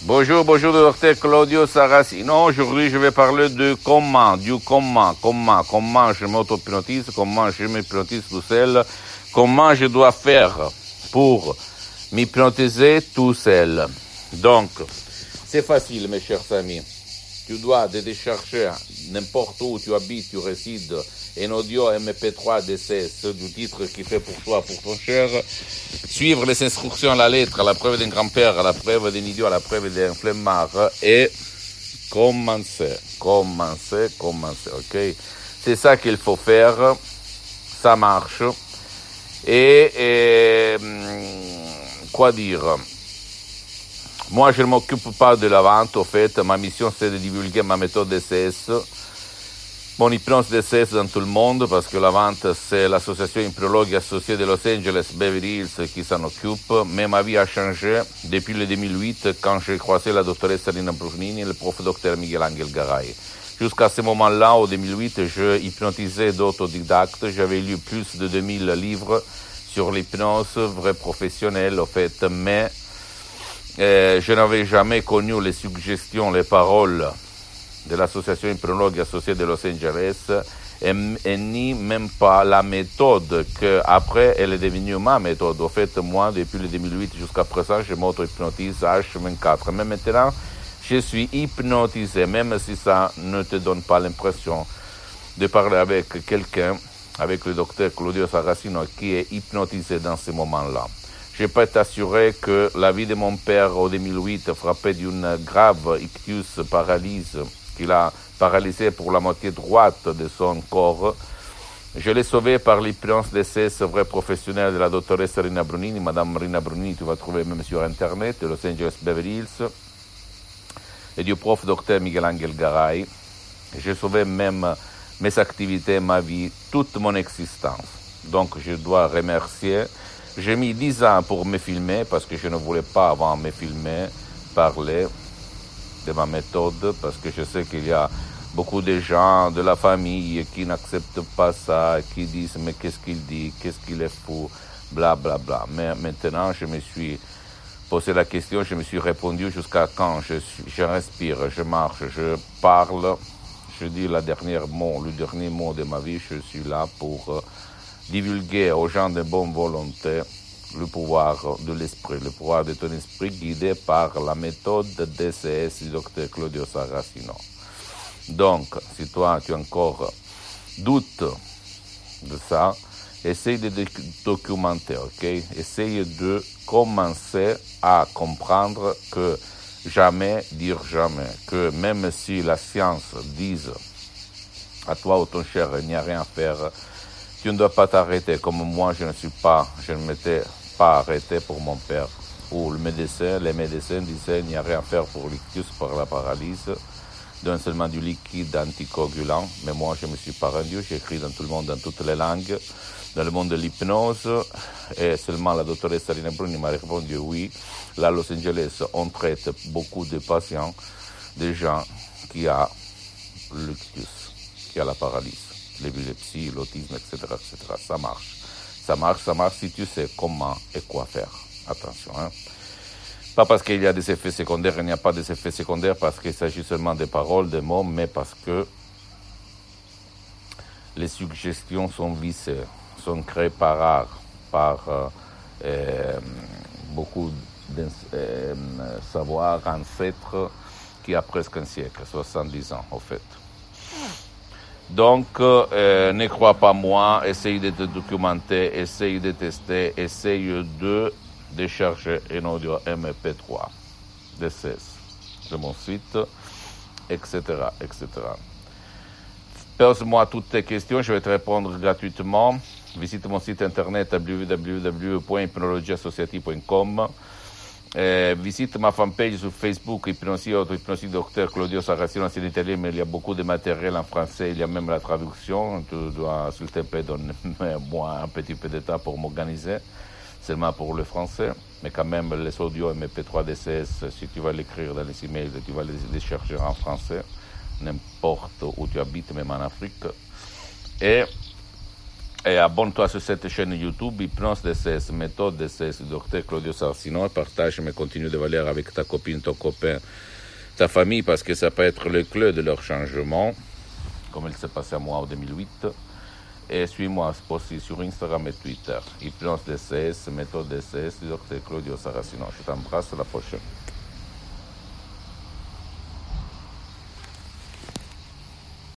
Bonjour, bonjour, docteur Claudio Saracino. Aujourd'hui, je vais parler de comment je m'auto-hypnotise, comment je m'hypnotise tout seul, comment je dois faire pour m'hypnotiser tout seul. Donc, c'est facile, mes chers amis. Tu dois télécharger n'importe où tu habites, tu résides, un audio MP3 DCS du titre qui fait pour toi, pour ton cher, suivre les instructions à la lettre, à la preuve d'un grand-père, à la preuve d'un idiot, à la preuve d'un flemmard, et commencer, ok? C'est ça qu'il faut faire, ça marche, et quoi dire? Moi, je ne m'occupe pas de la vente, au fait, ma mission c'est de divulguer ma méthode DCS, mon hypnose DCS dans tout le monde, parce que la vente, c'est l'association hypnologue associée de Los Angeles, Beverly Hills, qui s'en occupe. Mais ma vie a changé depuis le 2008, quand j'ai croisé la doctoresse Rina Brunini et le prof docteur Miguel Angel Garay. Jusqu'à ce moment-là, au 2008, je hypnotisais d'autodidactes. J'avais lu plus de 2000 livres sur l'hypnose, vrai professionnel, au fait. Mais je n'avais jamais connu les suggestions, les paroles de l'association hypnologue associée de Los Angeles et ni même pas la méthode que après elle est devenue ma méthode. En fait, moi, depuis le 2008 jusqu'à présent, je m'auto-hypnotise H24. Mais maintenant, je suis hypnotisé, même si ça ne te donne pas l'impression de parler avec quelqu'un, avec le docteur Claudio Saracino, qui est hypnotisé dans ce moment-là. Je peux t'assurer que la vie de mon père en 2008, frappé d'une grave ictus, paralyse, qu'il a paralysé pour la moitié droite de son corps. Je l'ai sauvé par l'hypnose DCS vrai professionnel de la doctoresse Rina Brunini. Madame Rina Brunini, tu vas trouver même sur Internet, de Los Angeles Beverly Hills, et du prof docteur Miguel Angel Garay. J'ai sauvé même mes activités, ma vie, toute mon existence. Donc je dois remercier. J'ai mis 10 ans pour me filmer, parce que je ne voulais pas avant me filmer, parler de ma méthode, parce que je sais qu'il y a beaucoup de gens de la famille qui n'acceptent pas ça, qui disent mais qu'est-ce qu'il dit, qu'est-ce qu'il est fou, bla bla bla. Mais maintenant, je me suis posé la question, je me suis répondu jusqu'à quand je respire, je marche, je parle, je dis le dernier mot de ma vie, je suis là pour divulguer aux gens de bonne volonté le pouvoir de l'esprit, le pouvoir de ton esprit guidé par la méthode DCS du docteur Claudio Saracino. Donc, si toi tu as encore doute de ça, essaye de documenter, ok? Essaye de commencer à comprendre que jamais dire jamais, que même si la science dise à toi ou ton cher, il n'y a rien à faire, tu ne dois pas t'arrêter, comme moi je ne m'étais pas arrêté pour mon père. Ou les médecins disaient il n'y a rien à faire pour l'ictus par la paralysie, donne seulement du liquide anticoagulant. Mais moi je ne me suis pas rendu, j'ai écrit dans tout le monde, dans toutes les langues, dans le monde de l'hypnose, et seulement la doctoresse Rina Bruni m'a répondu oui. Là, à Los Angeles, on traite beaucoup de patients, de gens qui ont l'ictus, qui ont la paralysie, l'épilepsie, l'autisme, etc., etc. Ça marche si tu sais comment et quoi faire. Attention, hein. Pas parce qu'il y a des effets secondaires, il n'y a pas des effets secondaires parce qu'il s'agit seulement des paroles, des mots, mais parce que les suggestions sont vissées, sont créées par beaucoup de savoir ancêtres qui a presque un siècle, 70 ans en fait. Donc, ne crois pas moi, essaye de te documenter, essaye de tester, essaye de décharger un audio MP3 de 16 de mon site, etc., etc. Pose-moi toutes tes questions, je vais te répondre gratuitement. Visite mon site internet www.hypnologieassociative.com. Visite ma fanpage sur Facebook, Hypnosie Auto-Hypnosie Docteur Claudio Saracino, c'est en italien, mais il y a beaucoup de matériel en français, il y a même la traduction. Tu dois, s'il te plaît, donner-moi un petit peu de temps pour m'organiser, seulement pour le français. Mais quand même, les audios MP3 DCS, si tu vas l'écrire dans les emails, tu vas les chercher en français, n'importe où tu habites, même en Afrique. Et Et abonne-toi sur cette chaîne YouTube, Hypnose DCS, méthode DCS du docteur Claudio Sarcino, et partage mes contenus de valeur avec ta copine, ton copain, ta famille, parce que ça peut être le clé de leur changement, comme il s'est passé à moi en 2008. Et suis-moi aussi sur Instagram et Twitter, Hypnose DCS, méthode DCS du docteur Claudio Sarcino. Je t'embrasse, à la prochaine.